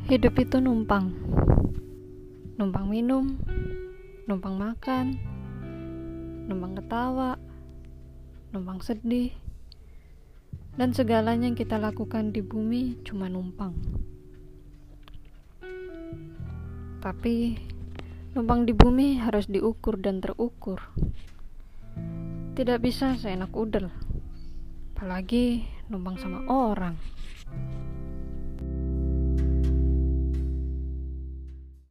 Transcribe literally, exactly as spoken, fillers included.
Hidup itu numpang. Numpang minum, numpang makan, numpang ketawa, numpang sedih. Dan segalanya yang kita lakukan di bumi cuma numpang. Tapi numpang di bumi harus diukur dan terukur. Tidak bisa seenak udel, apalagi numpang sama orang.